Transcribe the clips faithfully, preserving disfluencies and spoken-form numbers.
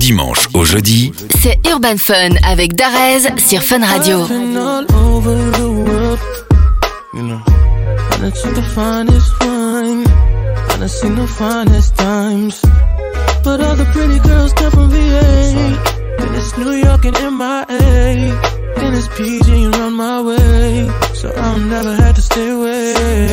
dimanche au jeudi, c'est Urban Fun avec Darez sur Fun Radio. You know, I done seen the finest wine, I done seen the finest times, but all the pretty girls come from V A. Then it's New York and M I A, then it's P G and run my way, so I'll never have to stay away.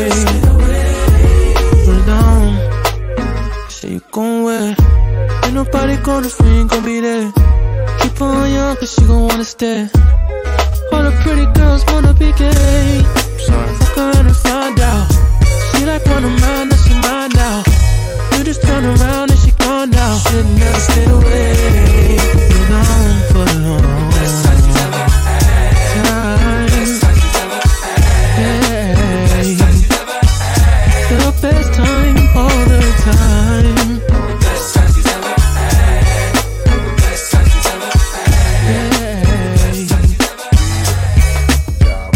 Put it down, say you gon' wear, ain't nobody gonna if we ain't gon' be there. Keep on young cause she gon' wanna stay. All the pretty girls wanna be gay. Fuck around and find out. She like one of mine, now she mine now. You just turn around and she gone now. Should never stayed away. Put it on, put it on. Best time she's ever had. Best time she's ever had. Best time she's ever had. The best time all the time. Best time she's ever had. Best time she's ever had. Best time she's ever had.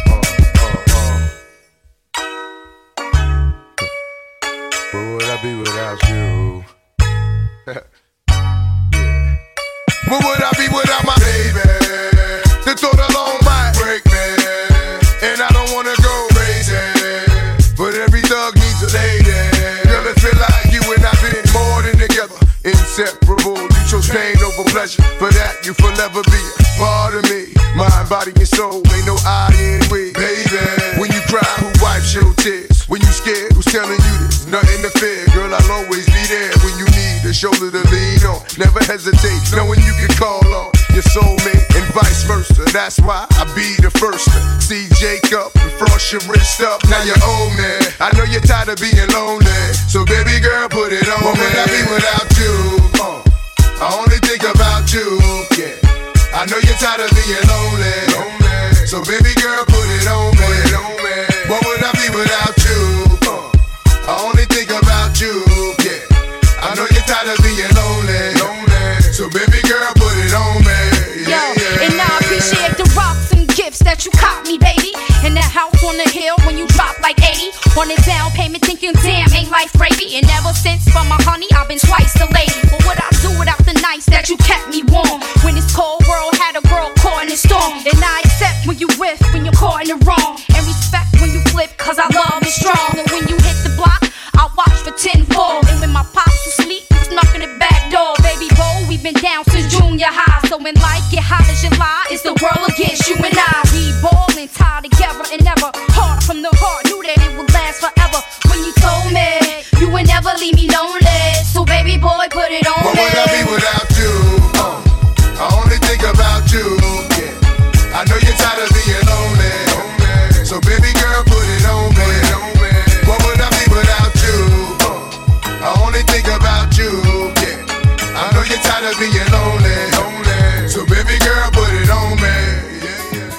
Where would I be without you? Yeah. Where would I be without my baby? The thought alone might break me, and I don't wanna go crazy, but every thug needs a lady. Girl, it feel like you and I been more than together, inseparable. You chose pain over pleasure, for that you forever be a part of me. Mind, body, and soul, ain't no I in we. Baby, when you cry, who wipes your tears? When you scared, who's telling you this? Nothing to fear, girl, I'll always be there. When you need a shoulder to lean on, never hesitate, knowing you can call on your soulmate and vice versa. That's why I be the first to see Jacob and frost your wrist up. Now you're old man, I know you're tired of being lonely, so baby girl, put it on. What would I be without you? Uh, I only think about you, yeah. I know you're tired of being lonely, lonely. So baby girl, put it on me. Put it on me. What would I be without you? Uh, I only think about you, yeah. I know you're tired of being lonely, lonely. So baby girl, put it on me. Yeah, Yo, yeah, and I appreciate the rocks and gifts that you caught me, baby. And that house on the hill when you drop like eighty. On a down payment thinking, damn, ain't life gravy. And ever since for my honey, I've been twice the lady. But what I do without the nights that you kept me warm? When this cold world had a girl caught in the storm. And I accept when you whiff, when you're caught in the wrong. And respect when you flip, cause I love is strong. And when you hit the block, I watch for tenfold. And when my pops was asleep, you snuck in the back door. Baby boy, we've been down since junior high. So when life get hot as July, it's the world against you and I. We ballin', tied together and never hard from the heart. Knew that it would last forever. When you told me you would never leave me lonely. So baby boy, put it on what me. What would I be without you? Uh, I only think about you, yeah. I know you're tired of being lonely, lonely. So baby girl, put it on me. What would I be without you? Uh, I only think about you, yeah. I know you're tired of being lonely, lonely. So baby girl, put it on me. Yeah, yeah.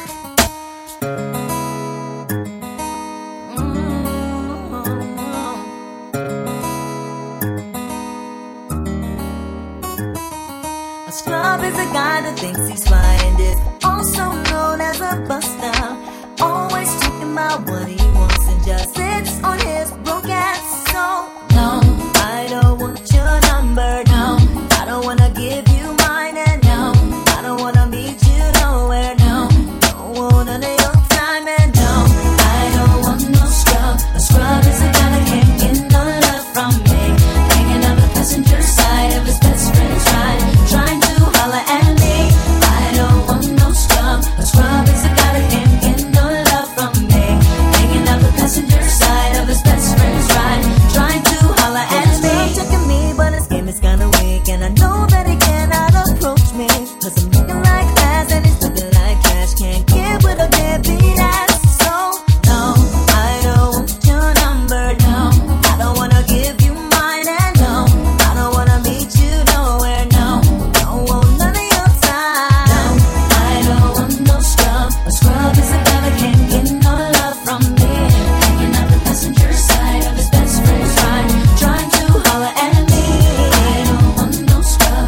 A scrub is a guy that thinks he's fly and is also known as a buster. Always talking about what he wants and just sits on his broke ass. So no, I don't want your number. No, I don't wanna give you mine. And no, I don't wanna meet you nowhere. No, don't want none of your time. And no, I don't want no scrub. A scrub is a guy that can't get no love from me. Hanging on the passenger side of his best friend's ride, trying to holler at me. I don't want no scrub. A scrub is a guy that can't get no love from me. Hanging out the passenger side of his best friend's ride, trying to holler at me. He's checking me, but his game is kinda weak, and I know that he cannot approach me. Cause I'm looking like ass and he's looking like trash. Can't get with a deadbeat ass. So no, I don't want your number. No, I don't wanna give you mine. And no, I don't wanna meet you nowhere. No, don't want none of your time. No, I don't want no scrub. A scrub is a guy that can't get no love from me. Hanging out the passenger side of his best friend's ride, trying to holler at me. I don't want no scrub.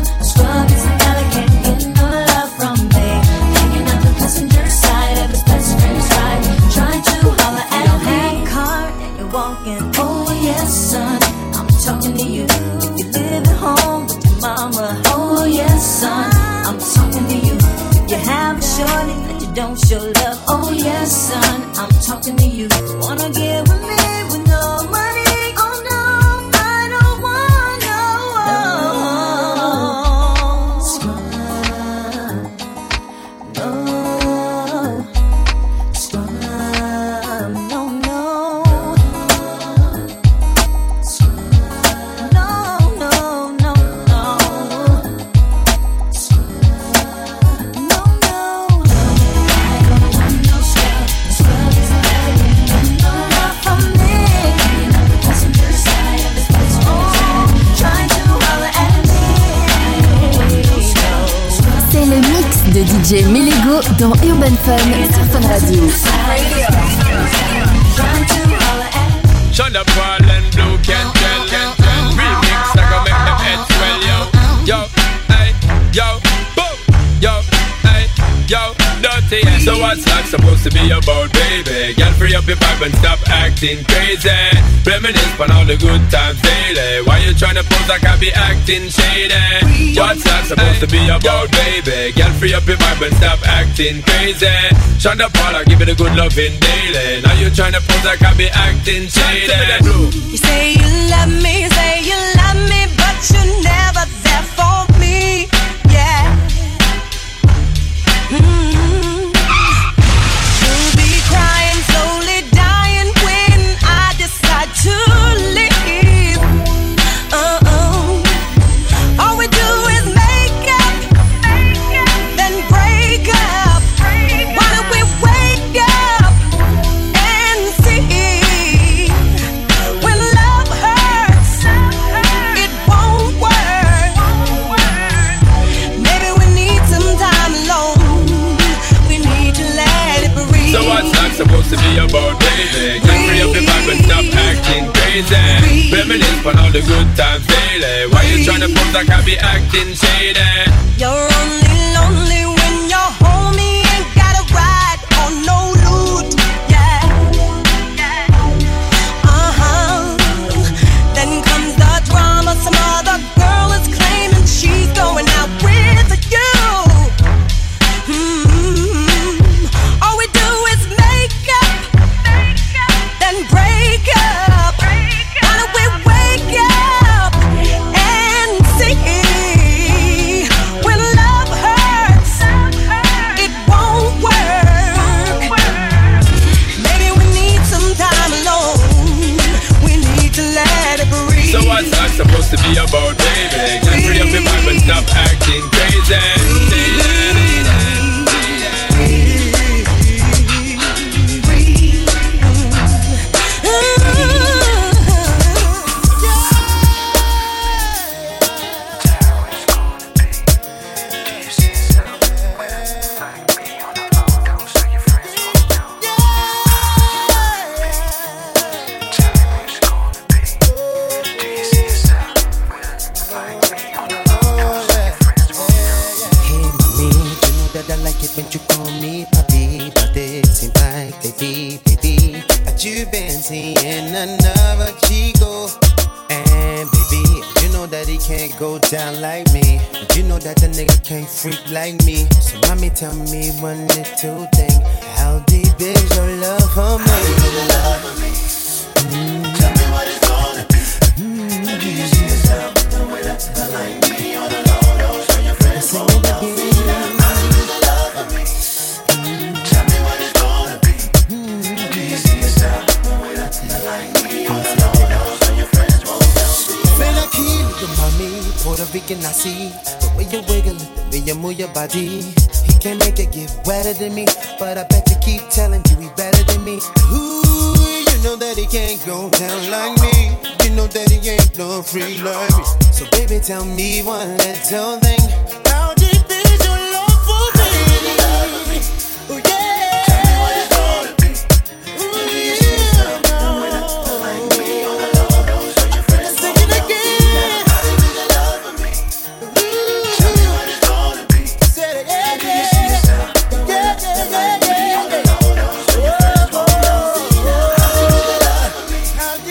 yes, son, I'm talking to you. If you have a shorty that you don't show love, oh yes, son, I'm talking to you. Wanna get with me with no money? Oh no, I don't want no. No, scrub, no, no. No, no, no, no. No, no, no. I don't want no scrub. Scrub is bad, no love from me. You know the passenger side of this place. Oh, trying to holler at me. C'est le mix de D J Melego dans Urban Fun sur Fun Radio. Trying to holler at me. Shut up, Paul and Blue can tell. Remix, I gon' make them heads swell, yo. Yo, hey, yo, boom, yo, hey, yo, dirty. So what's that supposed to be about, baby? Girl, free up your vibe and stop acting crazy. Reminisce on all the good times daily. Why you tryna pose like I be acting shady? What's that supposed to be about, baby? Girl, free up your vibe and stop acting crazy. Shonda Paula, give it a good loving daily. Now you tryna pose like I be acting shady. You say you love me, say you love me, but you're never there for me. Yeah. Mm-hmm. You'll be crying, slowly dying when I decide to leave. Uh-oh. All we do is make up, then break up. Why don't we wake up and see? When love hurts, it won't work. Maybe we need some time alone. We need to let it breathe. So what's that supposed to be about, baby? Get free up your vibe and stop acting crazy. Reminisce on all the good times daily. Why you tryna pose like I be acting shady? You're only lonely when your homie ain't got a ride or no loot. Yeah. Uh-huh. Then comes the drama. Some other girl is claiming she's going out with you. Mm-hmm. All we do is make up, then break up. Why don't we wake up and see? When love hurts, it won't work. Maybe we need some time alone. We need to let it breathe. So what's that supposed to be about, baby? Get free up your vibe and stop acting crazy. When you call me papi, but it seems like baby, baby, that you've been seeing another chico. And baby, you know that he can't go down like me. You know that the nigga can't freak like me. So mommy, tell me one little thing. How deep is your love for me? How deep is your love for me? Mm. Tell me what it's gonna be. Mm. Do you see yourself the way that you like me on the low? Don't show your friends roll down. Puerto Rican, I see the way you wiggle it, the way you move your body. He can make it get wetter than me, but I bet you keep telling you he better than me. Ooh, you know that he can't go down like me. You know that he ain't no freak like me. So baby, tell me one little thing. How deep is your love for me? Oh yeah. Tell me what it's gonna be. Ooh yeah.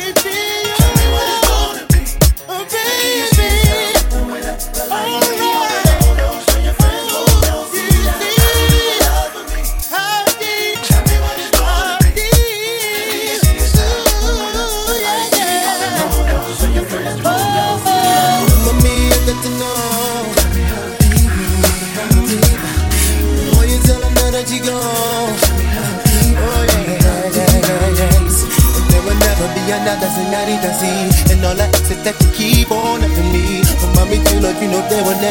Alright.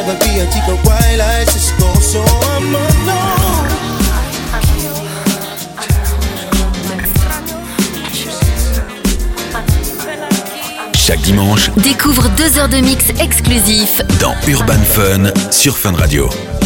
never be a chico white like Cisco, so I'm alone. Chaque dimanche, découvre deux heures de mix exclusif dans Urban Fun sur Fun Radio.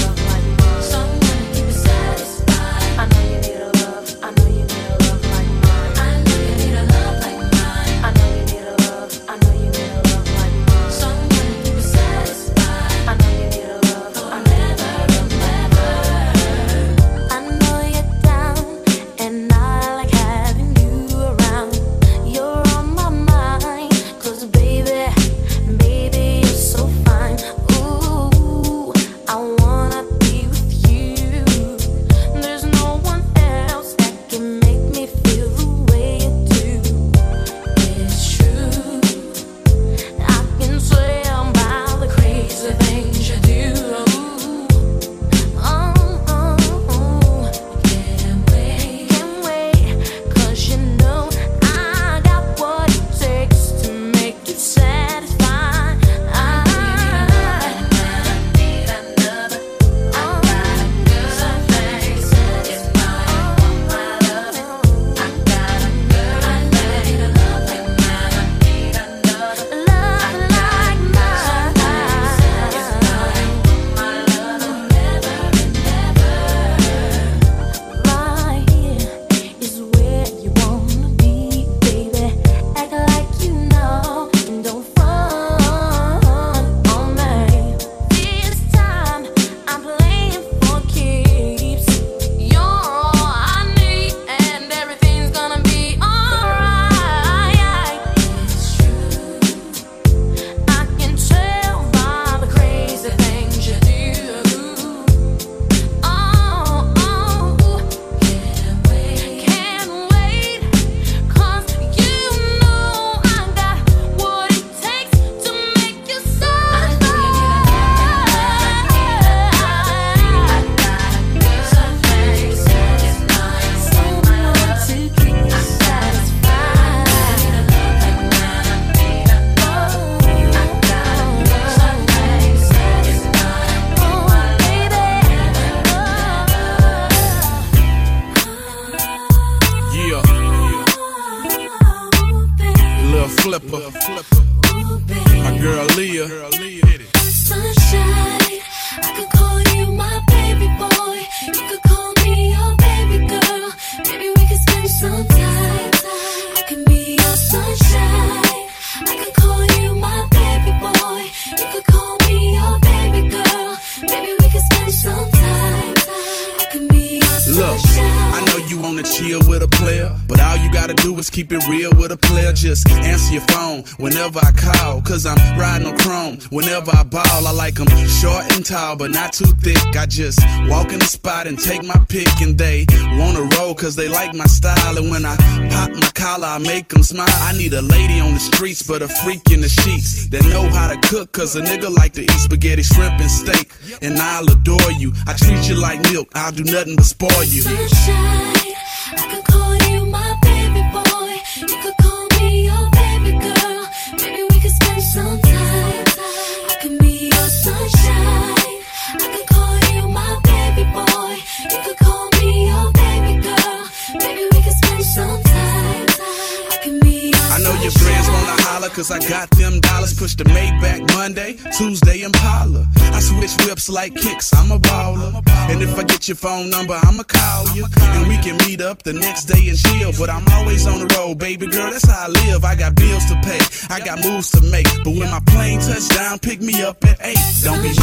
Keep it real with a player, just answer your phone whenever I call, cause I'm riding on chrome whenever I ball. I like them short and tall, but not too thick. I just walk in the spot and take my pick, and they wanna roll cause they like my style. And when I pop my collar, I make them smile. I need a lady on the streets, but a freak in the sheets that know how to cook, cause a nigga like to eat spaghetti, shrimp, and steak. And I'll adore you, I treat you like milk, I'll do nothing but spoil you. Sunshine, I could call you my baby boy. You could call me your baby girl. Maybe we could spend some time. I could be your sunshine. I could call you my baby boy. You could call me your baby girl. Maybe we could spend some time. I could be your sunshine. I know your friends wanna holler cause I got them dollars. Push the Maybach Monday, Tuesday Impala. I switch whips like kicks, I'm a baller. And if I get your phone number, I'ma call you. And we can meet up the next day and chill. But I'm always on the road, baby girl, that's how I live. I got bills to pay, I got moves to make. But when my plane touch down, pick me up at eight. Don't be late.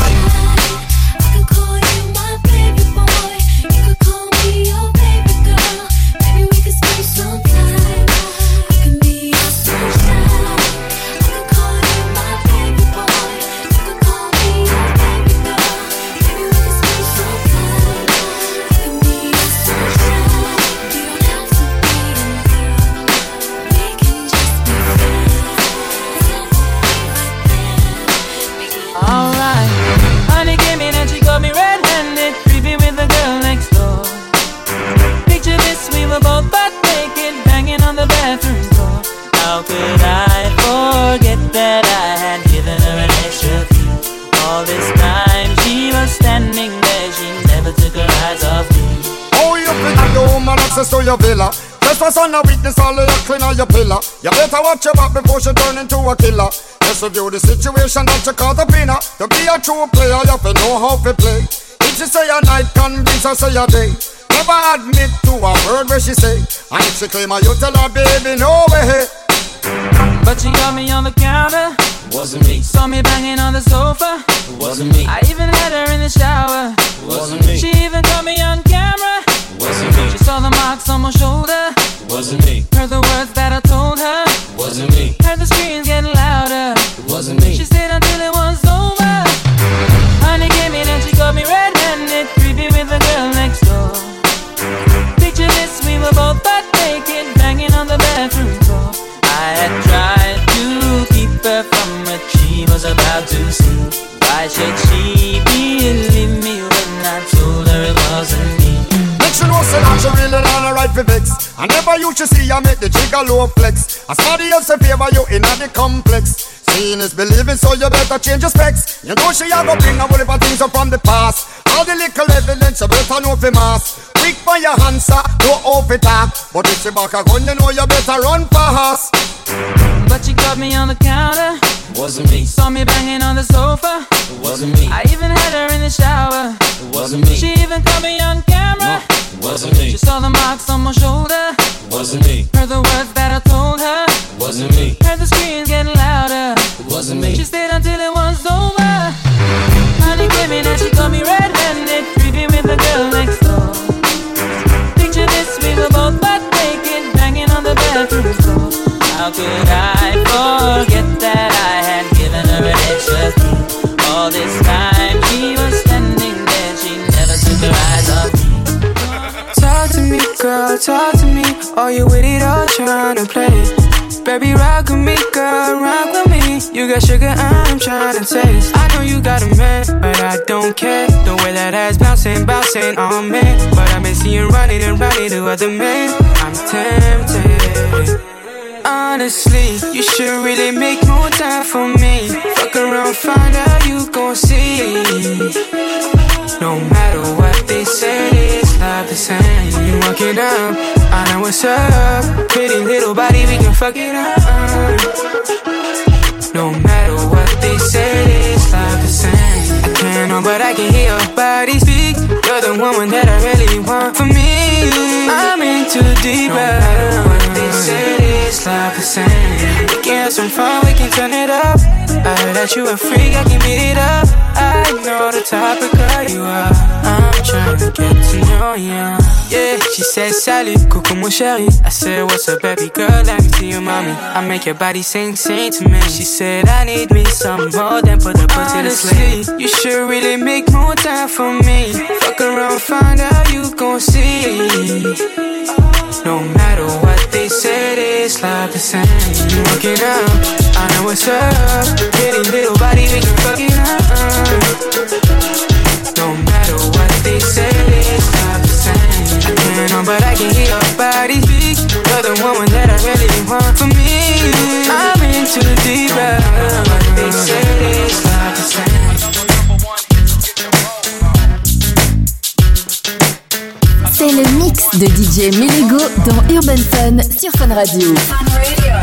I could call you my baby boy. You could call me your baby girl. Maybe we could spend some time. I can be your sunshine. I could call you my baby boy. You could call me your baby girl. Maybe we could spend some time. I can be your sunshine. We don't have to be in love. We can just be friends. Alright, honey. standing there, she never took her eyes off me. Oh, you think the woman access to your villa? Just for son of weakness, all of your clean on your pillar. You better watch your back before she turn into a killer. Just review the situation that you caught up in her. To be a true player, you have to know how to play. If she say a night, convince her say a day. Never admit to a word where she say. And if she claim her, you tell her, baby, no way. But she got me on the counter. Wasn't me. Saw me banging on the sofa. Wasn't me. I even had her in the shower. Wasn't me. She even caught me on camera. Wasn't me. She saw the marks on my shoulder. Wasn't me. Heard the words that I told her. Wasn't me. Heard the screams getting louder. Wasn't me. She stayed until it was over. Honey came in and she got me red-handed, creepy with the girl next door. Picture this, we were both butt naked, banging on the bathroom floor. I had tried to keep her from what she was about to see. Why should she believe me when I told her it wasn't me? Make sure no say that she really on the right for vex. I never used to see you make the jigger low flex. As somebody else in favor you in the complex. Seeing is believing, so you better change your specs. You know she a go bring a whole heap of things up from the past. All the little evidence you better know for mass. Quick for your answer, no off it talk. But if she back a gun, you know you better run fast. But she caught me on the counter. Wasn't me. Saw me banging on the sofa. Wasn't me. I even had her in the shower. Wasn't me. She even caught me on camera. No, wasn't me. She saw the marks on my shoulder. Wasn't me. Heard the words that I told her. Wasn't me. Heard the screams getting louder. Wasn't me. She stayed until it was over. Honey came in and she caught me red-handed, creepy with the girl next door. Picture this, we were both butt naked, banging on the bathroom floor. How could I forget that I had given her an extra key? All this time she was standing there, she never took her eyes off me. Talk to me, girl, talk to me. Are you with it or trying to play? Baby, rock with me, girl, rock with me. You got sugar, I'm trying to taste. I know you got a man, but I don't care. The way that ass bouncing, bouncing on me. But I may see you running and running to other men. I'm tempted. Honestly, you should really make more time for me. Fuck around, find out you gon' see. No matter what they say, it's not the same. You walk it up, I know what's up. Pretty little body, we can fuck it up. No matter what they say, it's not the same. I can't know, but I can hear your body speak. You're the woman that I really want for me. I'm in too deep. No matter what they say, it's not the same. We can have some fun, we can turn it up. I heard that you a freak, I can beat it up. I know the type of girl you are. I'm trying to get to know you. Yeah, she said salut, coucou mon chéri. I said what's up baby girl, let me see you mommy. I make your body sing, sing to me. She said I need me some more than put the pussy to sleep. You should really make more time for me. Fuck around, find out you gon' see. No matter what they said, it's not the same. You walk it up, I know what's up. Pretty little body, we can fuck it up. No matter what they say, it's not the same. I can't know, but I can hear your body speak. You're the woman that I really want for me. I'm into the deep. No matter what they say, it's not the same. C'est le mix de D J Melego dans Urban Fun sur Fun Radio. Fun Radio.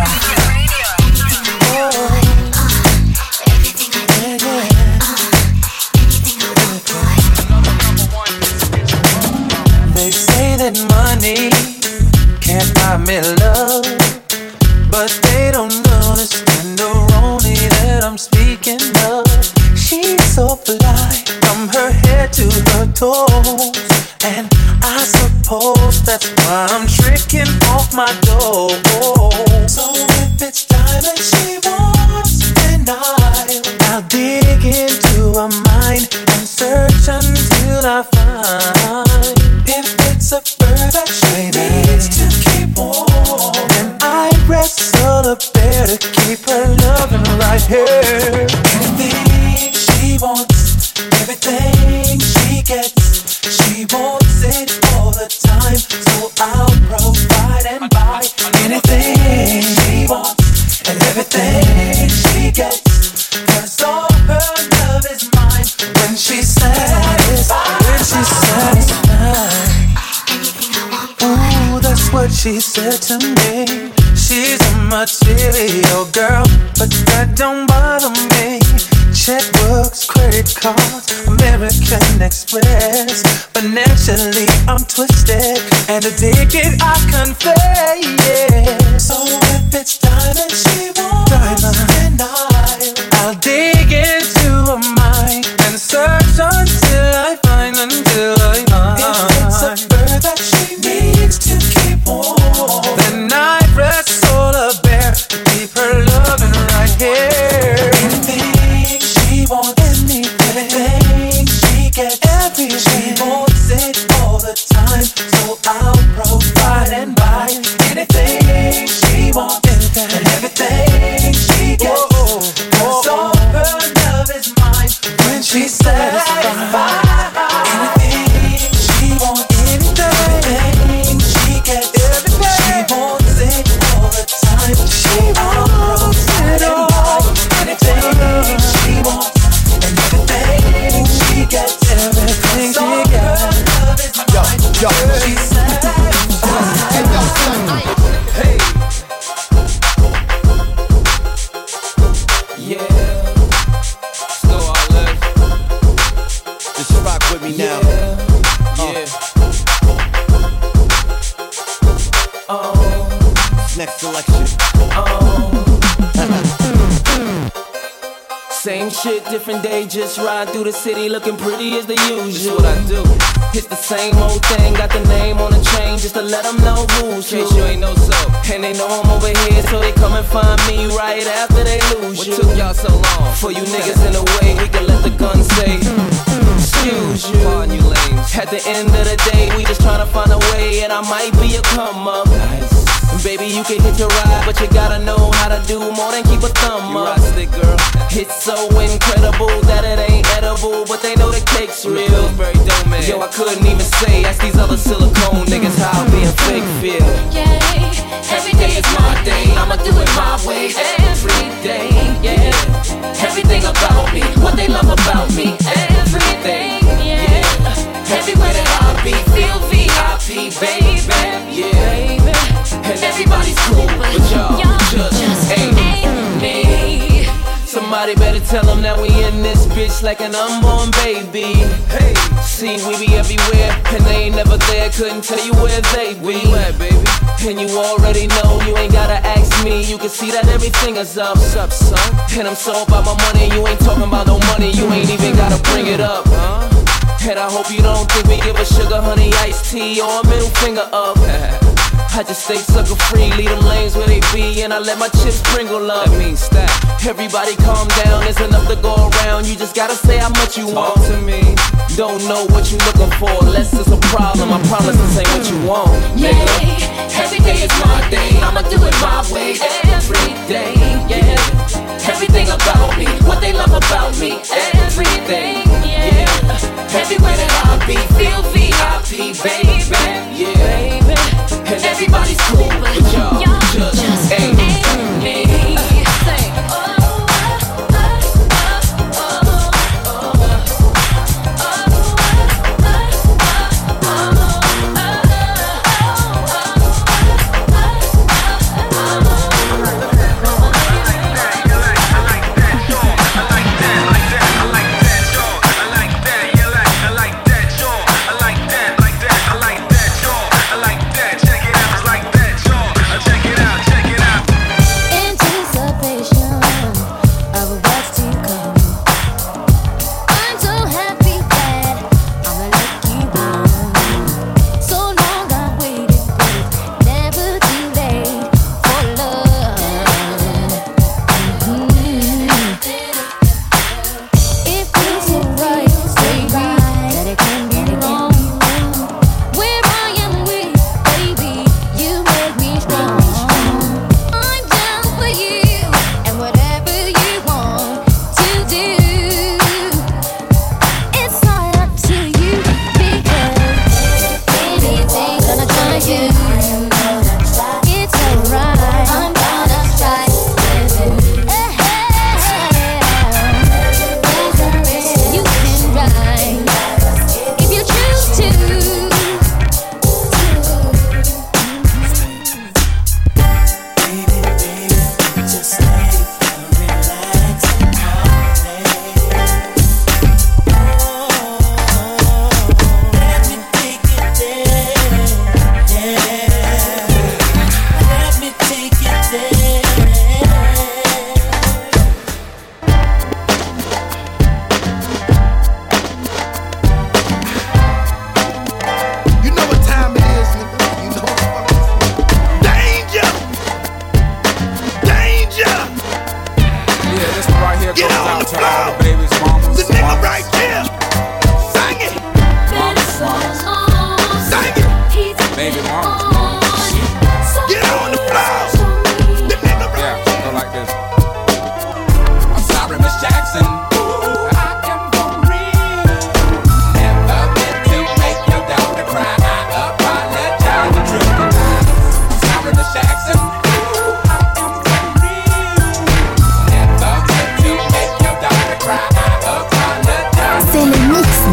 They say that money can't buy me love, but they don't understand the Ronnie that I'm speaking of. She's so fly from her head to her toes, and I suppose that's why I'm tricking off my dough. So if it's diamond she wants, then I'll, I'll dig into her mind and search until I find. If it's a bird that she needs to keep warm, then I wrestle up there to keep her loving right here. Anything she wants, everything she gets, she wants it all the time, so I'll provide and buy anything she wants and everything she gets, cause all her love is mine. When she said she said to me, she's a material girl, but that don't bother me. Checkbooks, credit cards, American Express. Financially, I'm twisted and addicted, I confess. Yeah. So if it's diamond, she wants diamond, and I, I'll dig into her mind and search until I find, until I find. If it's a bird that she needs to keep warm, then I press solar bear to keep her loving right here. Anything she wants, anything she gets, everything she wants it all the time. So I'll provide and buy anything she wants, and everything she gets. Cause all her love is mine when she's satisfied. Anything she wants, anything she gets, everything she wants it all the time. She wants it all, anything she wants, and everything she gets, everything she gets. Yo, yo, she's satisfied. Hey. Yeah. So I live. Just rock with me now. Yeah. Oh. Next selection. Oh. Same shit, different day, just ride through the city looking pretty as the usual. This is what I do. It's the same old thing, got the name on the chain just to let them know who's who. In case you ain't know so. And they know I'm over here, so they come and find me right after they lose what you. What took y'all so long? For you niggas in the way, we can let the gun say, excuse you. Pardon you lames. At the end of the day, we just tryna find a way, and I might be a come up. Nice. Baby, you can hit your ride, but you gotta know how to do more than keep a thumb you up. Right stick, girl. It's so incredible that it ain't edible, but they know the cake's real. Yo, I couldn't even say, ask these other silicone niggas how being fake feel. Yeah, every day is my day, I'ma do it my way. Every day, yeah. Everything about me, what they love about me. Everything, yeah. Everywhere that I be, feel V I P, baby. Yeah. And everybody's cool, but y'all just, just ain't, ain't me. Somebody better tell them that we in this bitch like an unborn baby. Hey, see, we be everywhere, and they ain't never there. Couldn't tell you where they be. Where you at, baby? And you already know, you ain't gotta ask me. You can see that everything is up, up, son. And I'm so about my money, you ain't talking about no money. You ain't even gotta bring it up, huh? And I hope you don't think we give a sugar, honey, iced tea, or a middle finger up. I just stay sucker free, leave them lanes where they be, and I let my chips sprinkle up. That means stack. Everybody calm down, there's enough to go around. You just gotta say how much you Talk want to me. Don't know what you looking for, unless it's a problem. I promise this ain't what you want, yeah. Nigga. Every day is my day, I'ma do it my way. Every day, yeah. Everything about me, what they love about me. Everything, yeah. Everywhere that I be, feel V I P, baby. Yeah, baby. And everybody's cool, but y'all just, just ain't me. I like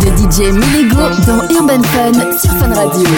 de D J Milego dans Urban Fun sur Fun Radio.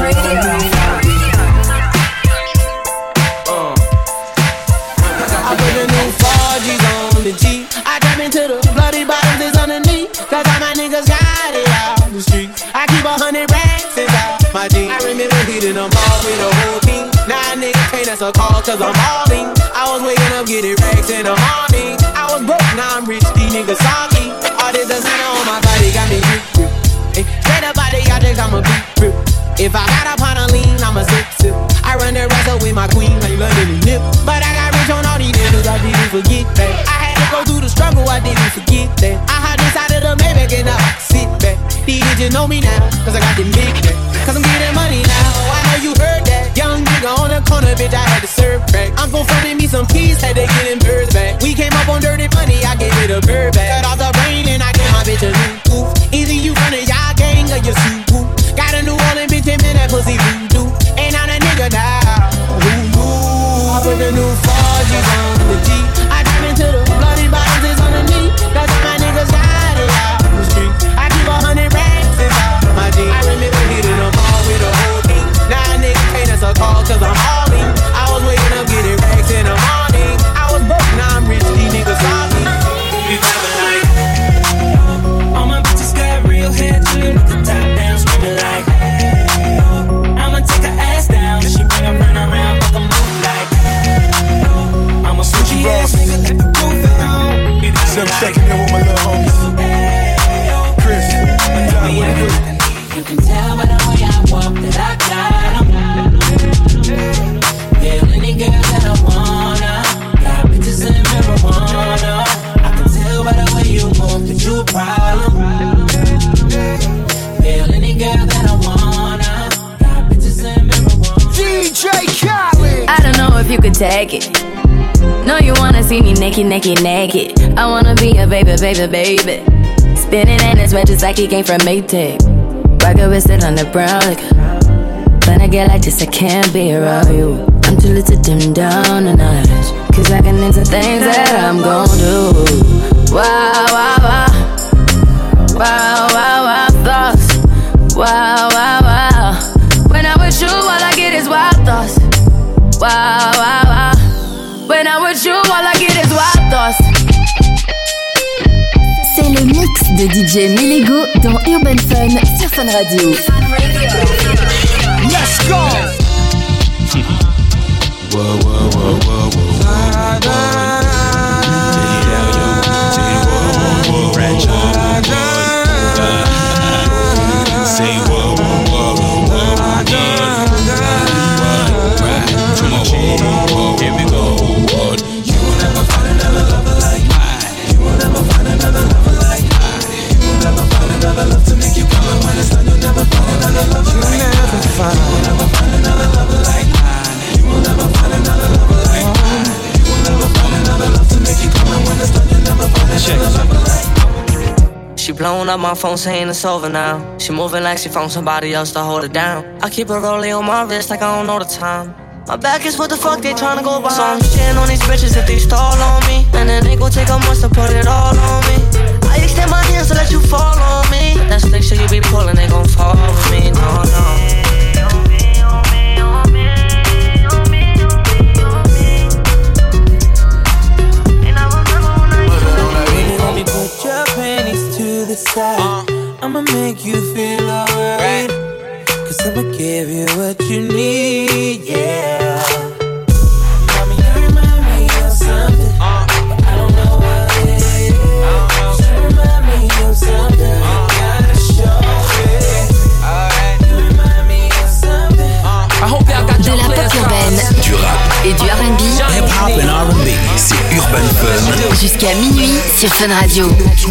I put the new four G's on the G. I drop into the bloody bottoms that's underneath. Cause all my niggas got it out the street. I keep a hundred racks inside my jeans. I remember hitting them all with the whole team. Now a nigga can't answer a call cause I'm balling. I was waking up getting racks in the morning. I was broke, now I'm rich, these niggas salty. All this designer on my body got me drip, drip. Hey, straight up body, I think I'm a beat grip. If I got up on a lean, I'm a sip, sip. I run the rest up with my queen, like London and Nip. But I got rich on all these niggas, I didn't forget that. I had to go through the struggle, I didn't forget that. I had inside of the Maybach and I sit back. These bitches know me now, cause I got them big back. Cause I'm getting money now, I know you heard that. Young nigga on the corner, bitch, I had to serve back. I'm gon' frontin' me some keys, had to get them birds back. We came up on dirty money, I gave it a bird back. Cut off the brain and I gave my bitch a new goof. Either you runnin' y'all gang or you super. Got a new Orleans bitch, and man, that pussy voodoo. Ain't on a nigga now. Who knew? I put the new four G's on the G. I dive into the bloody bottoms that's underneath. That's all my niggas got it out the street. I keep a hundred racks inside my jeans. I remember hitting them all with the whole team. Now a nigga can't answer a call cause I'm all in. I was waking up getting racks in the morning. I was broke, now I'm rich, these niggas saw me. You driving like all my bitches got real hair, chillin' with the top down, screaming like I'ma take her ass down. She bring her friend around, fuck 'em move like I'm a switchy ass nigga, let the roof down. So I'm checking in with my little homies. Chris, John, what you do? You can tell by the way I walk that I got 'em. Feel any girl that I wanna. Got bitches in marijuana. I can tell by the way you move that you a problem. Feel any girl that I wanna. Got bitches in marijuana. D J Khaled. I don't know if you could take it. No, you wanna see me naked, naked, naked. I wanna be a baby, baby, baby. Spinning in his red just like he came from Maytag. Rocket with it on the brown like when I get like this, I can't be around you. I'm too little to dim down a notch. Cause I can into things that I'm gon' do. Wow, wow, wow. Wow, wow, wow, thoughts. Wow, wow, wow. When I'm with you, all I get is wild thoughts. Wow, wow, wow. When I'm with you, all I get is wild thoughts. C'est le mix de D J Milego dans Urban Fun sur Fun Radio. Let's go! Whoa, whoa, whoa, whoa, whoa. La, la, take it down, yo. Take it, whoa, whoa, whoa. Ratchet, whoa, whoa. Say whoa, whoa, whoa, whoa. Yeah. Right, come on, whoa, whoa. Here we go, whoa. You will never find another lover like mine. You will never find another lover like mine. You will never find another love to make you come. And when it's done, you'll never find another lover like mine. You will never find another lover like mine. You will never find another lover like mine. You will never find another love to make you come. And when it's done, you'll never find another lover like mine. She blowing up my phone saying it's over now. She moving like she found somebody else to hold it down. I keep her rolling on my wrist like I don't know the time. My back is what the fuck they tryna go by. So I'm shitting on these bitches if they stall on me. And then they gon' take a month to put it all on me. I extend my hands to let you fall on me. But that slick shit you be pulling, they gon' fall with me. No, no. Put your panties to the side. uh, I'ma make you feel alright. Cause I'ma give you what you need, yeah. Mommy, you remind me of something, uh, but I don't know what it is. uh, You remind me of something, uh, gotta show it. Alright. You remind me of something. uh, I hope y'all got de la pop urbaine, du rap et du R and B. Hip hop and R and B, c'est Urban Fun. Jusqu'à minuit sur Fun Radio.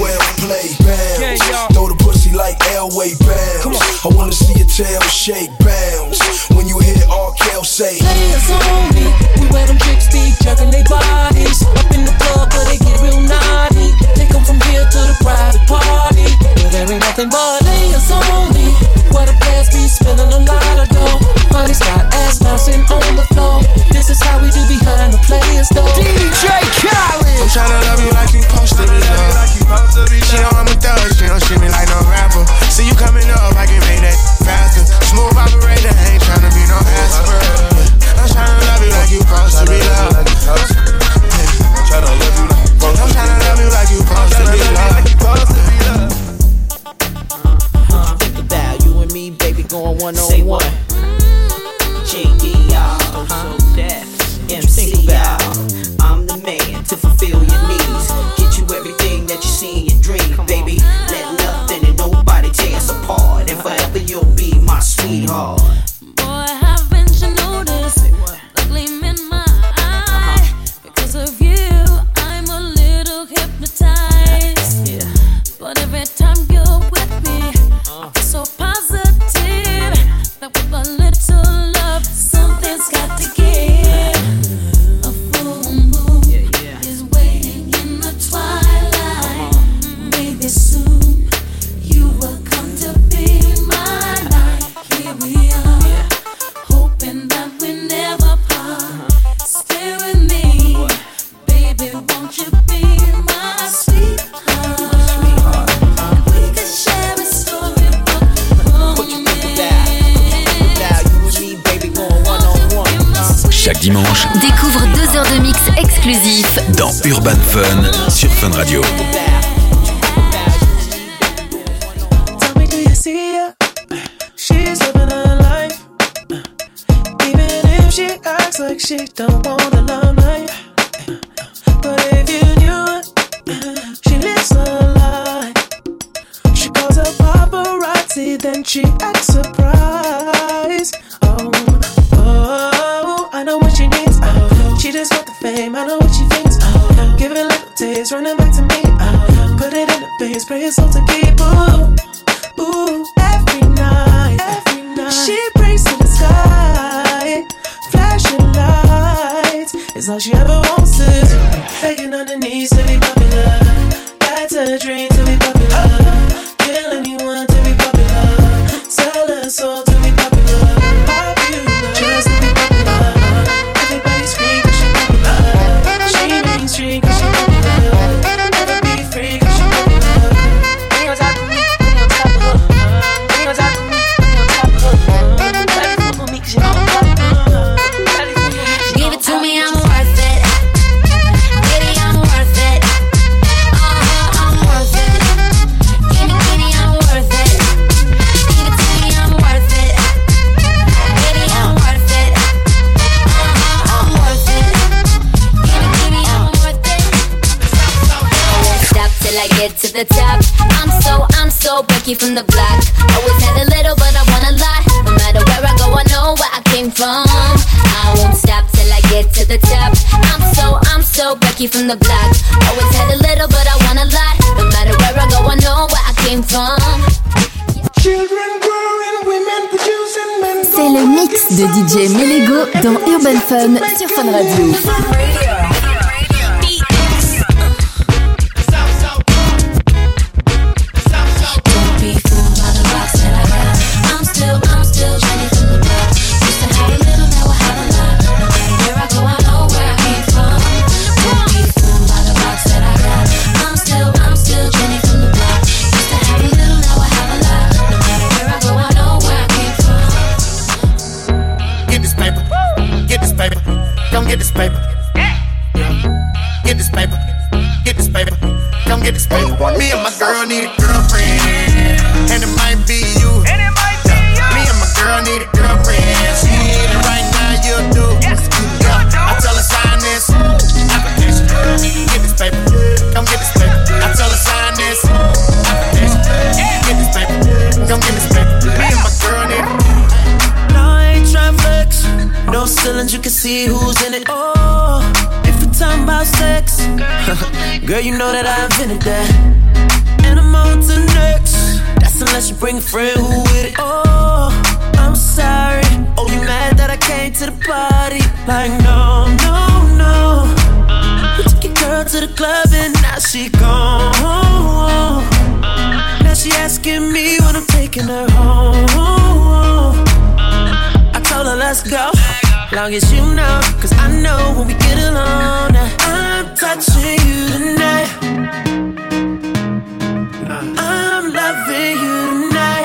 Throw the pussy like Elway bounce. I wanna see your tail shake bounce. When you hear R. Kelly say, players only. We wear them chicks be jerking their bodies up in the club, but they get real naughty. They come from here to the private party, but there ain't nothing but players only. Where the players be spilling a lot of dough. Honey's got ass bouncing on the floor. This is how we do behind the players though. D J Khaled. I'm tryna love you like you supposed to be, love. She know I'm a thug, she don't treat me like no rapper. going one on one. J D y'all, so deaf. M C y'all, I'm the man to fulfill your needs. Get you everything that you see in your dream, baby. Let nothing and nobody tear us apart. And forever you'll be my sweetheart. Boy, haven't you noticed the gleam in my eye? Because of you, I'm a little hypnotized. Yeah. But every time you're with me, I feel so positive that with a little love, something's got to give. A full moon yeah, yeah. is waiting in the twilight. Maybe soon you will come to be mine. Here we are, Yeah. hoping that we never part. Stay with me, baby, won't you be my sweetheart? We could share a storybook. What you think about? About you and me, baby, going one on one. Chaque dimanche, Découvre deux heures de mix exclusifs dans Urban Fun sur Fun Radio. Tell me, do you see her? She's living her life. Even if she acts like she don't want the limelight. But if you knew it, she lives her life. She calls her paparazzi, then she acts surprised. Oh, oh, I know what she needs. Oh, she just want the fame, I know what she thinks. Oh, give it a little taste, running back to me. Oh, put it in the face, pray it's all to keep. Ooh, ooh, every night, every night. She prays to the sky, flashing lights. It's all she ever wants is begging on the knees to be popular. That's a dream to be popular. Kill anyone to be popular. Sell her soul to be popular. Popular, just to be popular. Everybody scream 'cause she popular. She mainstream 'cause she popular. Never be free 'cause she popular. Bring on top of me, bring on top of her. Bring on top of me, bring on top of her. Daddy fuck with me 'cause she popular. Daddy fuck with me 'cause she Give it to me, I'm worth it. Baby, I'm worth it. Uh-huh, I'm worth it. Give me, give me, I'm worth it. Give it to me, I'm worth it. Baby, I'm worth it. Uh-huh, I'm worth it. Give me, give me, I'm worth it. I won't stop till I get to the top. I'm so, I'm so Becky from the block. Always had a little, but I want a lot. No matter where I go, I know where I came from. I won't stop till I get to the top. I'm so, I'm so Becky from the block. Always had a little, but I want a lot. No matter where I go, I know where I came from. Children growing, women producing, men. C'est le mix de D J Melego dans Urban Fun sur Fun Radio. Don't be fooled by the rocks that I got. I'm still, I'm still Jenny from the block. Used to have a little, now I have a lot. No matter where I go, I know where I came from. Don't be fooled by the rocks that I got. I'm still, I'm still Jenny from the block. Used to have a little, now I have a lot. No matter where I go, I know where I came from. Get this paper, get this paper, come get this paper. Get this paper, get this paper, come get this paper. Me and my girl need a girlfriend, and it might be you. Me and my girl need a girlfriend. She need it right now, you do. Yeah, I tell her sign this application. Get this paper, come get this paper. I tell her sign this application. Get this paper, come get this paper. Me and my girl need it. No, I ain't tryna flex. No ceilings, you can see who's in it. Oh, if we're talking about sex, girl, you know that I invented that. And I'm on to next. That's unless you bring a friend who with it. Oh, I'm sorry. Oh, you mad that I came to the party? Like, no, no, no. You took your girl to the club and now she gone. Now she asking me when I'm taking her home. I told her let's go, long as you know, cause I know when we get alone, I'm touching you tonight. I'm loving you tonight.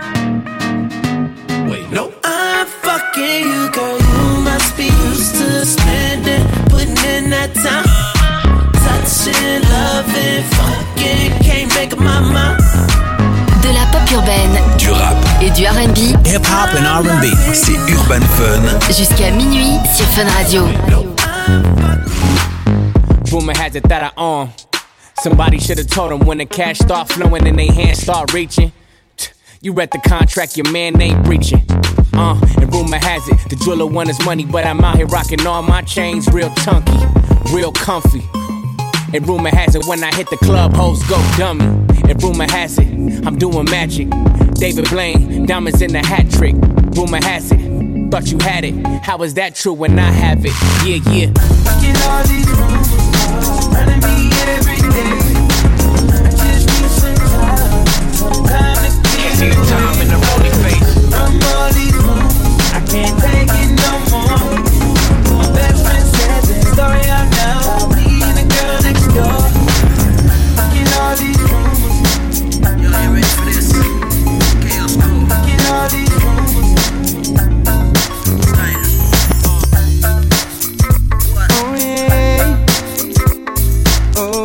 Wait, no, I'm fucking you, girl. You must be used to spending, putting in that time, touching, loving, fucking, can't make up my mind. De la pop urbaine, Du rap et du R and B. Hip hop and R and B. C'est Urban Fun. Jusqu'à minuit sur Fun Radio. Rumor has it that I own. Somebody should have told them when the cash start flowing and they hands start reaching. You read the contract, your man ain't breaching. Uh, and rumor has it, the jeweler want his money, but I'm out here rocking all my chains real chunky, real comfy. And rumor has it, when I hit the club, hoes go dummy. And rumor has it, I'm doing magic. David Blaine, diamonds in the hat trick. Rumor has it, thought you had it. How is that true when I have it? Yeah, yeah. Get all these rumors, running me every day. I just need some time, some time to get see the time in the rolling face. From all these rumors, I can't take it no more. My best friend said this story out now. Me and the girl next door. Get all these rumors. Yo, you ready for this? Chaos cool. Get all these rumors. Oh yeah. Oh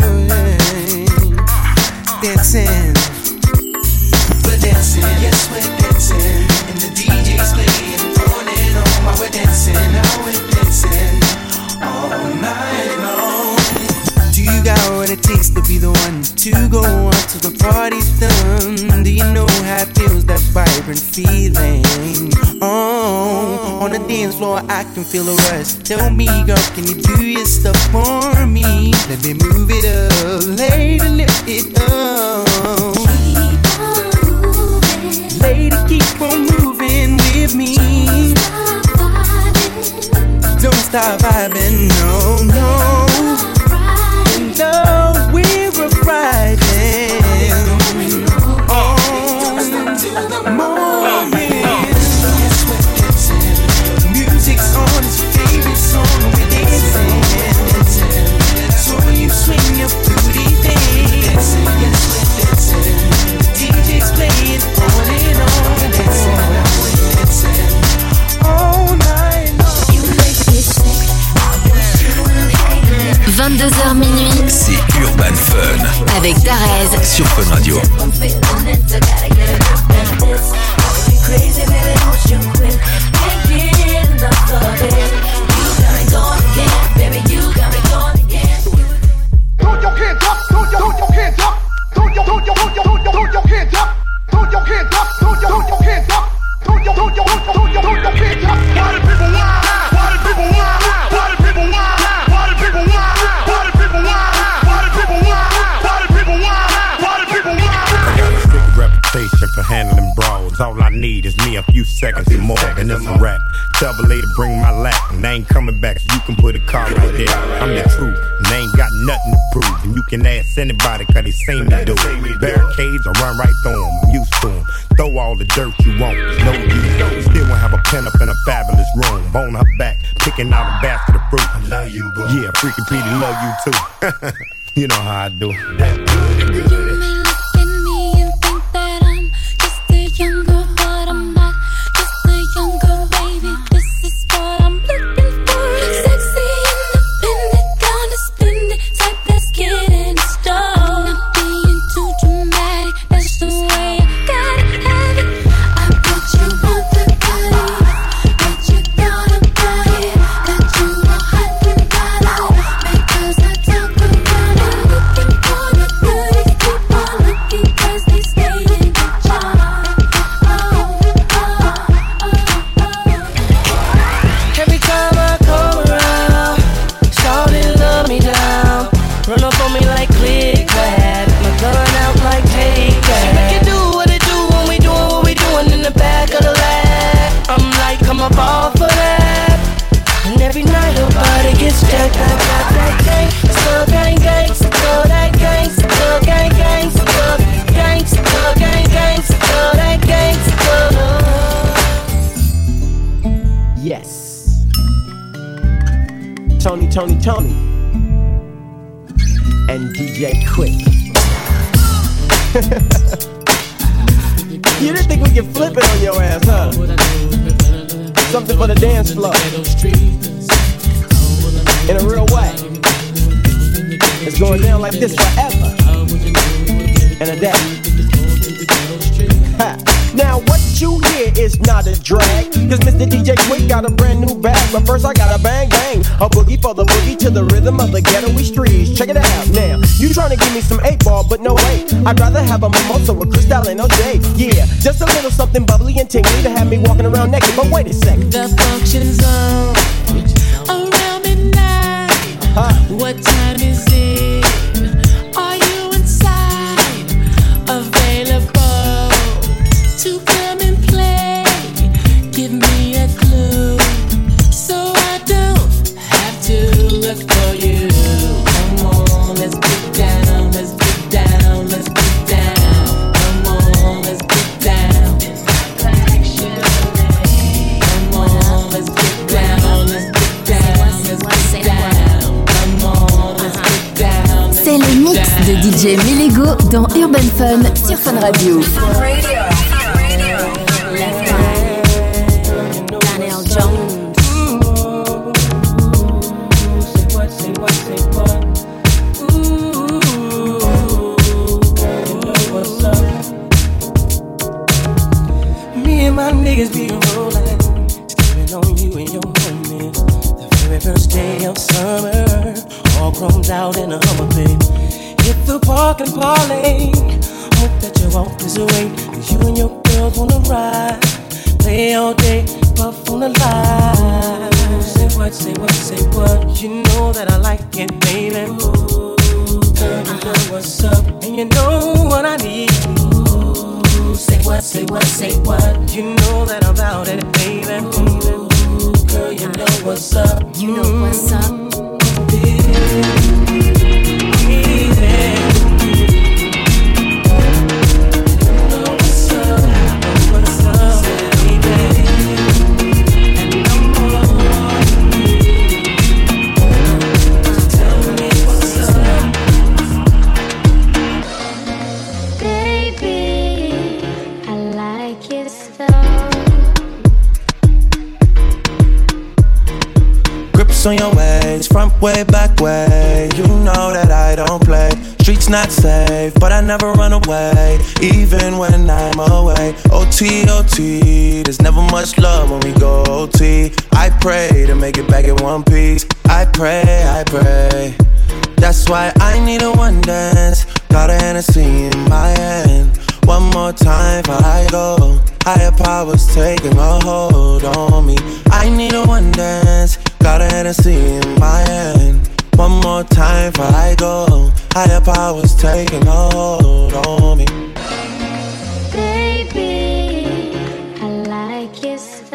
yeah. Dancing. We're dancing, yes we're dancing. And the D J's playing on and on while we're dancing. Now we're dancing all night long. Do you got what it takes to be the one to go on till the party's done? Do you know how it feels, that vibrant feeling? Oh, on the dance floor I can feel a rush. Tell me, girl, can you do your stuff for me? Let me move it up, lady, lift it up. Lady, keep on moving with me. Don't stop vibing, no, no. No, we're riding on moment. Yes, we're dancing. Music's on, it's your favorite song. We're dancing. So you swing your booty thing. Yes, we're dancing. D J's playing on and on. We're dancing, we're dancing all night long. You make me sick. vingt-deux heures minuit. C'est Urban Fun. Avec Darez sur Fun Radio. Crazy, baby, don't you quit. Can't get enough of it. You got me going again, baby, you got me going again. Throw your hands up, throw your, throw your hands up. Throw your, throw your, throw your, throw your hands up. Throw your hands up, throw your, throw your hands up. Throw your, throw your, throw your, throw your hands up. Why do people wild? Why do people wild? Why do people wild? Why do people wild? Why do people wild? Why do people wild? Why do people wild? Why do people wild? I got a big reputation for handling brawls. All I need is me a few seconds and more, and it's a rap. Tell the lady bring my lap, and they ain't coming back, so you can put a car right there. I'm the truth, and they ain't got nothing to prove. And you can ask anybody, cause they seen me do it. Barricades, I run right through them, I'm used to them. Throw all the dirt you want, no use. Still won't have a pen up in a fabulous room. On her back, picking out a basket of fruit. I love you, bro. Yeah, freaking Petey, love you too. You know how I do. That good, good. You may look at me and think that I'm just a younger, but I'm not just a younger baby. This is what I'm looking for. Sexy, independent, gonna spend it. Type that's getting started. Not being too dramatic, that's the way I gotta have it. I bet you want the body, bet you got a body, that you are hot and bothered. Because I talk around it, looking for the goodies. Keep on looking 'cause they stay in the jar. Oh, oh, oh, oh. Every time I come around, shawty love me down. Run up on me like click clack, my gun out like take that. She make it do what it do when we doing what we doing in the back of the lab. I'm like, come up off of that. And every night her body gets jacked. I got that gang, so gang gang, so that gang, so gang gang, so gang, so gang gang, so that gang, so. Yes. Tony, Tony, Tony, and D J Quick. You didn't think we could flip it on your ass, huh? Something for the dance floor. In a real way. It's going down like this forever. And a day. Ha. Now what you hear is not a drag, cause Mister D J Quick got a brand new bag. But first I gotta bang bang, a boogie for the boogie to the rhythm of the ghetto streets. Check it out now, you tryna give me some eight ball, but no wait, I'd rather have a mimosa with Cristal and O J. Yeah, just a little something bubbly and tingly to have me walking around naked. But wait a second, the function's on around midnight. Uh-huh. What time is it? Are you inside? Available to come and play? Give me a clue so I don't have to look for you. Come on, let's get down, let's get down, let's get down. Come on, let's get down. Come on, let's get down, let's get down, let's get down. Come on, let's get down. C'est le mix de D J Melego dans Urban Fun sur Fun Radio. Daniel Jones. Me and my niggas be rollin', staring on you and your homies. The very first day of summer, all chromed out in a Hummer, babe. Hit the park and parlay. Hope that your walk is away, cause you and your girls wanna ride. Play all day, puff on the line. Say what, say what, say what. You know that I like it, baby. Ooh, girl, you know what's up, and you know what I need. Ooh, say what, say what, say what. You know that I'm about it, baby. Ooh, girl, you know what's up. You know what's up. On your ways, front way, back way. You know that I don't play. Streets not safe, but I never run away, even when I'm away. O T, O T, there's never much love when we go O T. I pray to make it back in one piece. I pray, I pray. That's why I need a one dance. Got a Hennessy in my hand. One more time before I go. Higher powers taking a hold on me. I need a one dance. Got a Hennessy in my hand. One more time before I go. Higher powers taking a hold on me. Baby, I like it so.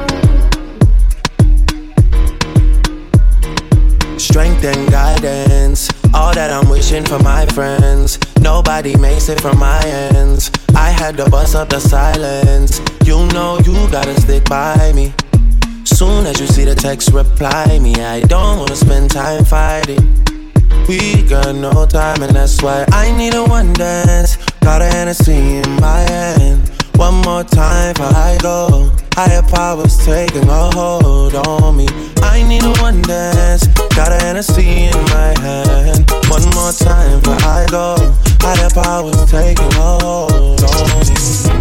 Strength and guidance, all that I'm wishing for my friends. Nobody makes it from my ends. I had to bust up the silence. You know you gotta stick by me. Soon as you see the text, reply me. I don't wanna spend time fighting. We got no time, and that's why I need a one dance. Got a Hennessy in my hand. One more time before I go. Higher powers taking a hold on me. I need a one dance. Got a Hennessy in my hand. One more time before I go. Higher powers taking a hold on me.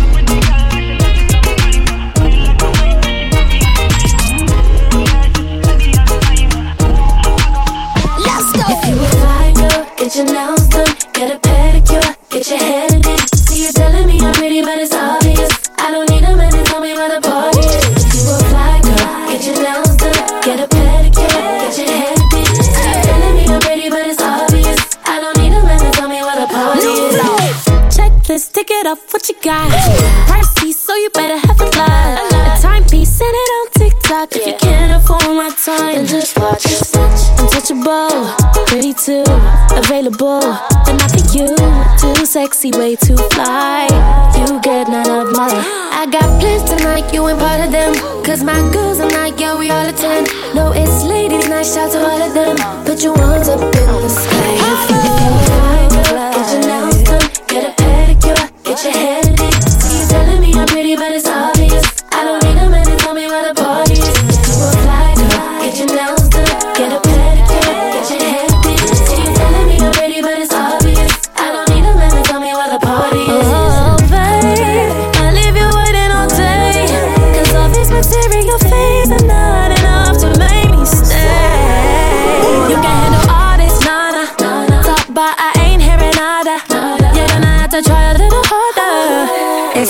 Get your nails done, get a pedicure, get your hair did. See you telling me I'm pretty, but it's obvious. I don't need a man to tell me where the party is. If you a fly girl, get your nails done, get a pedicure, get your hair did. See you telling me I'm pretty, but it's obvious. I don't need a man to tell me where the party is. Checklist, tick it off, what you got? Pricey, so you better have a lot. A timepiece, send it on TikTok. If you can't afford my time, then just watch. Untouchable, pretty too, available, but not for you. Too sexy, way too fly. You get none of my. I got plans tonight, you ain't part of them. Cause my girls are like, yeah, we all attend. No, it's ladies' night, shout to all of them. Put your ones up in the sky. If you fly, get your nails done, get a pedicure, get your hair did. You telling me I'm pretty, but it's obvious. I don't need a man to tell me where the party is. You a fly girl, get your nails done, get a pedicure, get your hair did. You telling me I'm pretty, but it's obvious. I don't need a man to tell me where the party is. Oh, babe, I leave you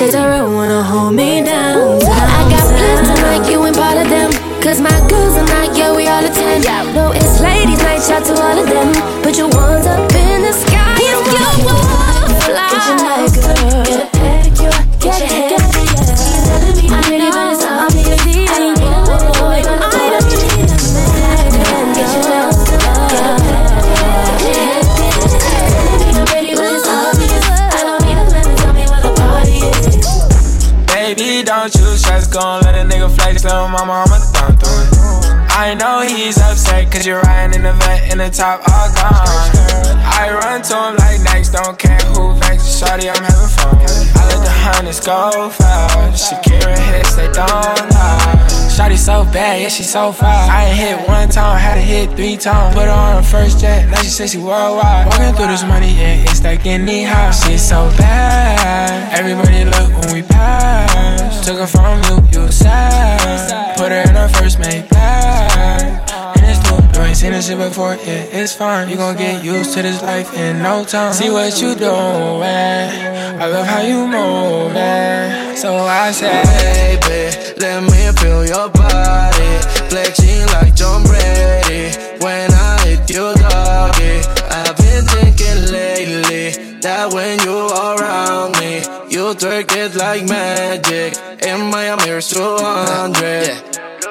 Take a room, wanna hold me down. I got plans tonight, you ain't part of them. Cause my girls are not, yeah, we all attend. No, it's ladies' night, shout to all of them. Put your ones up in the sky. If you wanna fly, get your night, girl. Get a pedicure, get your hair. I'm ready, but it's all me. I don't need a man. Get your nails done. Get a pedicure. I'm ready, but it's all me. I don't need a man to tell me where the party is. Baby, don't you stress, gon' let a nigga flex, little mama, I'ma thumb through it. I know he's upset, cause you're riding in the vet in the top all gone. I run to him like next, don't care who vex. Shawty, I'm having fun. I let the hundreds go fast. Shakira hits, they don't lie. Shawty so bad, yeah, she so fast. I ain't hit one time, had to hit three times. Put her on her first jet, now she say she worldwide. Walking through this money, yeah, it's like any house. She's so bad, everybody look when we pass. Took her from you, you sad. Put her in her first mate black. And it's new, you ain't seen this shit before, yeah, it's fine. You gon' get used to this life in no time. See what you doing, I love how you moving. So I say, baby, let me feel your body, flexing like John Brady. When I hit you, doggy, I've been thinking lately that when you around me, you twerk it like magic. In Miami, you're two hundred. Yeah.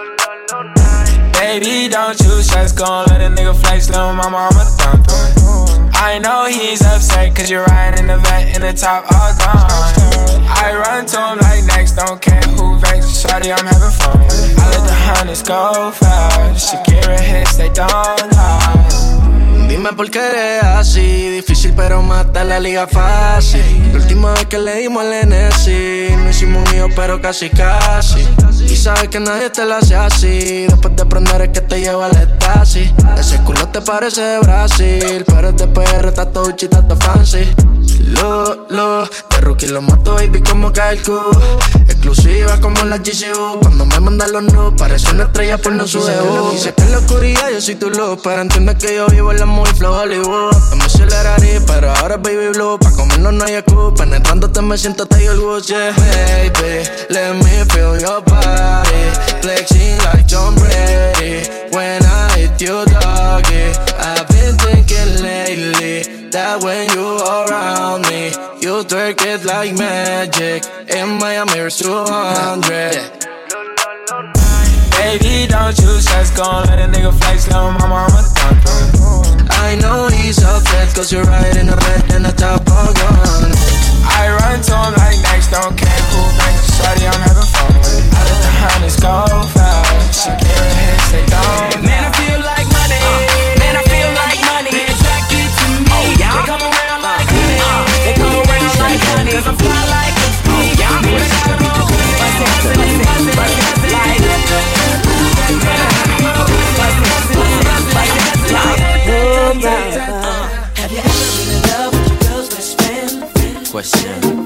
Baby, don't you stress, gon' let a nigga flex, little mama, I'ma thumb through it. I know he's upset, cause you're riding in the vet in the top all gone. I run to him like next, don't care who vex. Shawty, I'm having fun. I let the hundreds go fast. Shakira hits, they don't lie. Dime por qué eres así, difícil pero mata la liga fácil. La última vez que le dimos el N S, no hicimos un hijo pero casi casi. Y sabes que nadie te la hace así, después de aprender es que te lleva al estasis. Ese culo te parece de Brasil, pero es de P R, está todo chita, está fancy. Lo, lo, de rookie lo mato baby como cae el Q. Exclusiva como la G C U, cuando me mandan los nudes parece una estrella por no su debut. Sé que en la oscuridad yo soy tu luz, pero entiendes que yo vivo en la movie flow Hollywood. No me aceleraría, pero ahora es baby blue. Pa' comernos no hay excusa, penetrándote me siento Tiger Woods, yeah. Baby, let me feel your body, flexing like John Brady. When I hit you, doggy, I've been thinking lately that when you around me, you twerk it like magic. In Miami, you're two hundred. Baby, don't you stress, gon' let a nigga flex, little mama, I'ma thumb through it. I know he's upset, cause you're riding the red and the top all gone. I run to him like next, don't care who vex. Shawty, I'm having fun with it. I let the hundreds go fast. Shakira hits, they don't. Man, I feel like money. Man, I feel like money. They attracted to me. Oh, yeah. They come around like honey. They come around like honey. Cause I'm fly like a bee. Yeah, I'm gonna have a roll. Have you ever been in love with your girl's best friend? Question.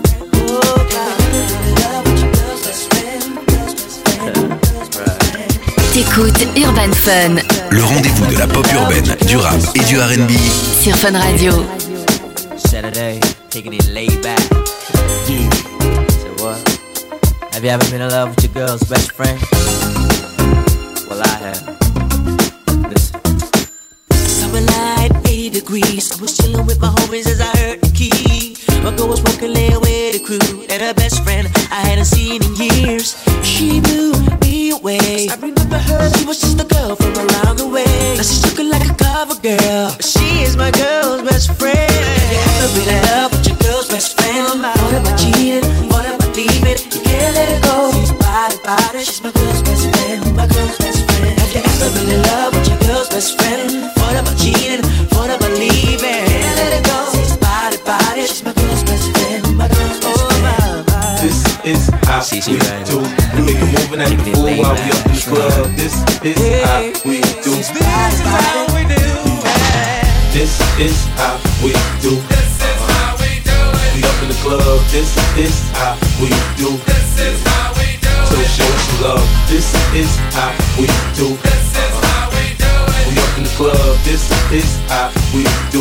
T'écoutes Urban Fun. Le rendez-vous de la pop urbaine, du rap et du R and B sur Fun Radio. Saturday, taking it laid back. Yeah. So what? Have you ever been in love with your girl's best friend? Well, I have. Listen. Summer night, eighty degrees. I was chilling with my homies as I heard the key. My girl was walking late with the crew, and her best friend I hadn't seen in years. She blew me away. I remember her, she was just a girl from around the way. Now she's looking like a cover girl. She is my girl's best friend. Have you ever been in love with your girl's best friend? What about cheating? What about leaving? You can't let it go. She's body, body. She's my girl's best friend. My girl's best friend. Have you ever been in love with your girl's best friend? What about cheating? What about leaving? Can't let it go. She's body, body. She's my girl's best friend. My girl's best friend. This is how we do. We make a move and act the fool while we up in the club. This is how we do. This is how we do. This is how we do. This is how we do. We up in the club. This is how we do. This is how we do. So show us some love. This is how we do. This is how we do. We up in the club. This is how we do. No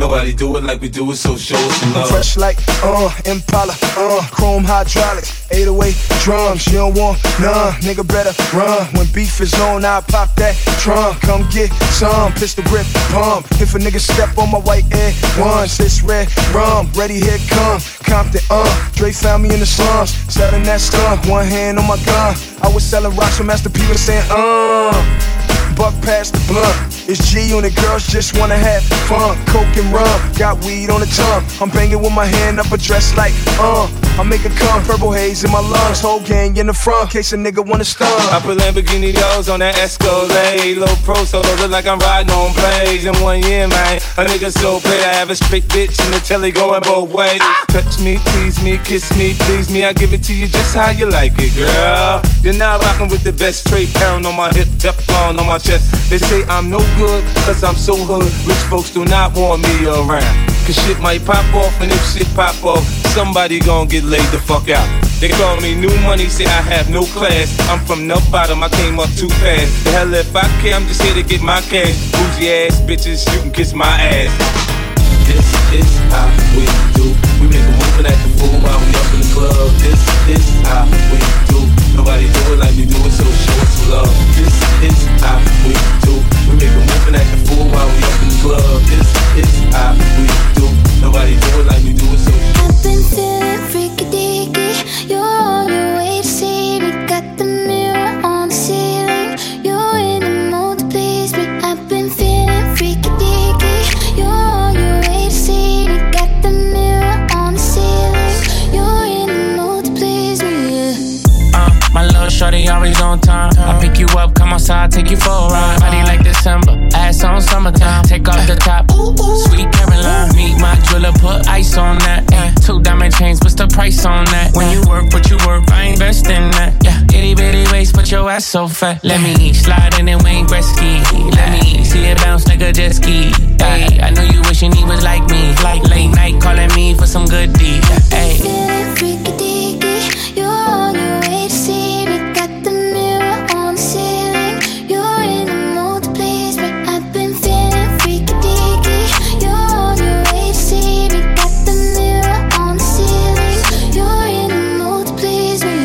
Nobody do it like we do it, so show us some love. Fresh like, uh, Impala, uh, chrome hydraulic, eight oh eight drums, you don't want none, nigga better run. When beef is on, I pop that trunk, come get some, pistol grip, pump. If a nigga step on my white air ones, it's red rum, ready, here come, Compton, uh, Dre found me in the slums, selling that skunk, one hand on my gun. I was selling rocks from Master P and saying, uh, buck past the blunt. It's G on the girls just wanna have fun. Coke and rum, got weed on the tongue. I'm banging with my hand up a dress like, uh I make it come, purple haze in my lungs. Whole gang in the front, case a nigga wanna stun. I put Lamborghini doors on that Escalade. Low pro solo, look like I'm riding on plays. In one year, man, a nigga so paid. I have a straight bitch in the telly going both ways. Touch me, tease me, kiss me, please me. I give it to you just how you like it, girl. You're now rocking with the best, straight pound on my hip, Teflon on my chest. They say I'm no good, cause I'm so hood. Rich folks do not want me around, cause shit might pop off, and if shit pop off, somebody gon' get laid the fuck out. They call me new money, say I have no class. I'm from the bottom, I came up too fast. The hell if I care, I'm just here to get my cash. Bougie ass bitches, you can kiss my ass. This is how we do. We make a move and act a fool while we up in the club. This is how we do. Nobody do it like we do it, so show us some love. This is how we do. We make a move and act a fool while we up in the club. This is how we do. Nobody do it like we do it, so I've been feeling freaky deaky. You're on your way to see me. Got the mirror on the ceiling. You're in the mood to please me. I've been feeling freaky deaky. You're on your way to see me. Got the mirror on the ceiling. You're in the mood to please me. Yeah. Uh, my little shorty always on time. I pick you up, come outside, take you for a ride. Body like December, ass on summertime. Take off the top, sweet Caroline. Meet my jeweler, put ice on that. Yeah. Two diamond chains, what's the price on that? When you work, what you work, I invest in that. Yeah, itty bitty waist, but your ass so fat. Let me slide in and Wayne Gretzky. Let me see it bounce like a jet ski. Hey, I know you wishing he was like me. Like late night calling me for some good deed. Hey. Feeling freaky deaky. You're on your way to see me. Got the mirror on the ceiling. You're in the mood to please me. I've been feeling freaky deaky. You're on your way to see me. Got the mirror on the ceiling. You're in the mood to please me.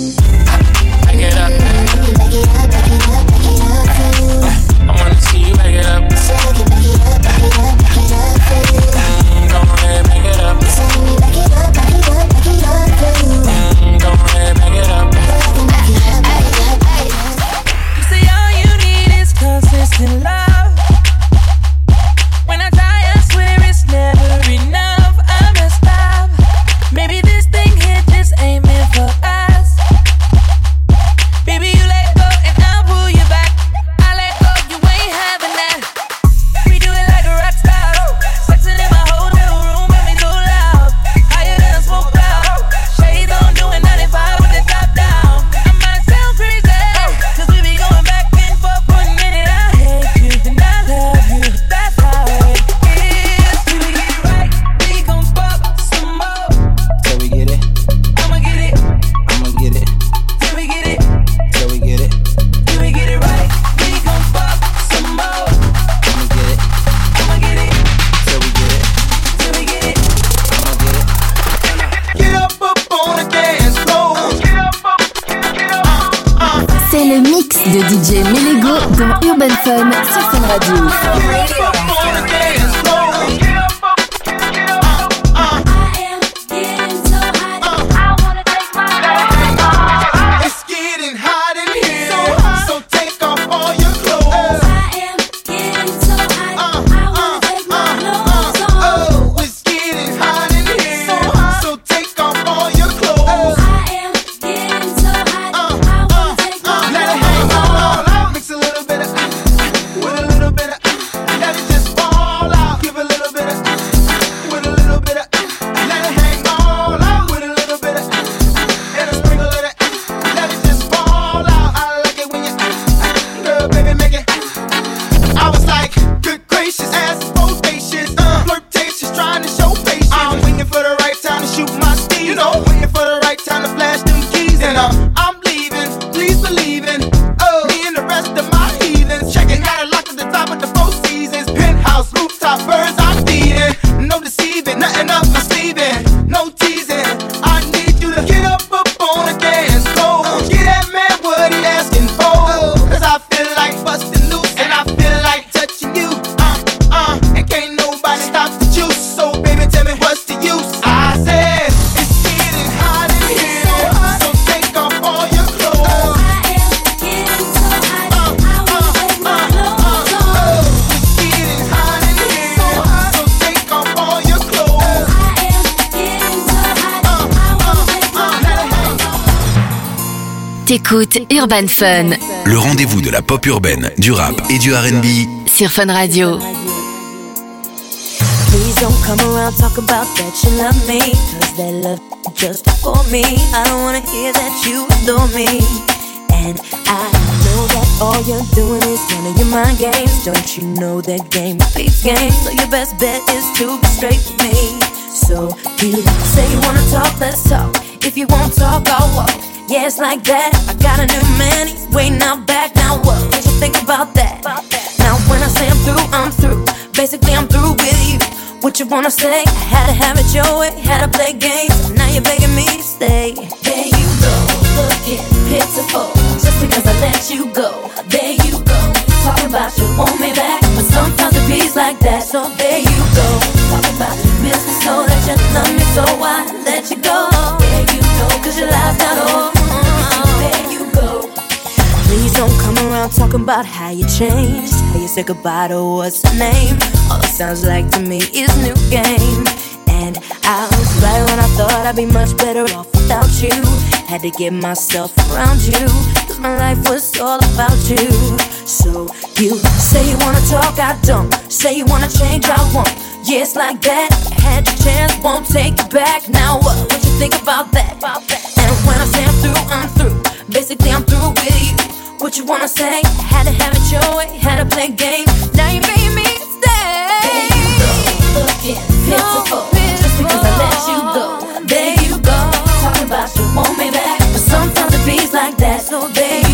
Yeah. Back it up. Back it up, back it up, back it up for you. I wanna see you back it up. So I can back it up, back it up, back it up for you. Mm, go ahead, back it up. So let me back it up, back it up, back it up for you. Mm, go ahead, back it up. So I can back it up, back it up, back it up. You say all you need is consistent love. When I die, I swear it's never enough. I messed up. Maybe this thing here just ain't meant for us. Baby, you let go and I'll pull you back. I let go, you ain't having that. We do it like a rock star. Sexing in my hotel room, and we so loud. Higher than a smoke cloud. Shades on, doing ninety-five with the top down. I might sound crazy, cause we be going back and forth for a minute. I hate you and I love you. That's how it is. Till we get it right, we gon' fuck some more. Till we get it, I'ma get it. I'ma get it. Till we get it, Till we get it, till we get it right, we gon' fuck some more. I'ma get it. I'ma get it, Till we get it, till we get it. I'ma get it. Get up up on the dance floor. Get up up, get up. C'est le mix de D J Melego dans Urban Fun sur Fun Radio. Get up on the dance floor. Get up up, get up. I am getting so hot. I wanna take my clothes off. It's getting hot in here, so take off all your clothes. I am getting so hot. I wanna take my clothes off. Oh, it's getting hot in here, so take off all your clothes. I am getting so hot. I wanna take my Let it hang all out. Mix a little bit of with a little bit of let it just fall out. T'écoutes Urban Fun. Le rendez-vous de la pop urbaine, du rap et du R and B sur Fun Radio. Please don't come around talking about that you love me, cause that love just for me. I don't wanna hear that you adore me. And I know that all you're doing is running your mind games. Don't you know that game beats game? So your best bet is to be straight with me. So you say you wanna talk, let's talk. If you won't talk, I'll walk. Yeah, it's like that. I got a new man, he's waiting out back. Now what? What you think about that? Now when I say I'm through, I'm through. Basically I'm through with you. What you wanna say? I had to have it your way, had to play games. Now you're begging me to stay. There you go, looking pitiful. Just because I let you go. There you go, talking about you want me back, but sometimes it beats like that. So there you go, talking about you miss me so that you love me, so I let you go. There you go, cause your life's not over. There you go. Please don't come around talking about how you changed, how you said goodbye to what's the name. All it sounds like to me is new game. And I was right when I thought I'd be much better off without you. Had to get myself around you, cause my life was all about you. So you say you wanna talk, I don't. Say you wanna change, I won't. Yeah, it's like that. Had your chance, won't take it back. Now what? What you think about that? And when I say I'm through, I'm through. Basically I'm through with you. What you wanna say? Had to have it your way, had to play games. Now you made me stay. There you go, looking pitiful. Just because I let you go. There you go, talking about you want me back, but sometimes it beats like that. So there you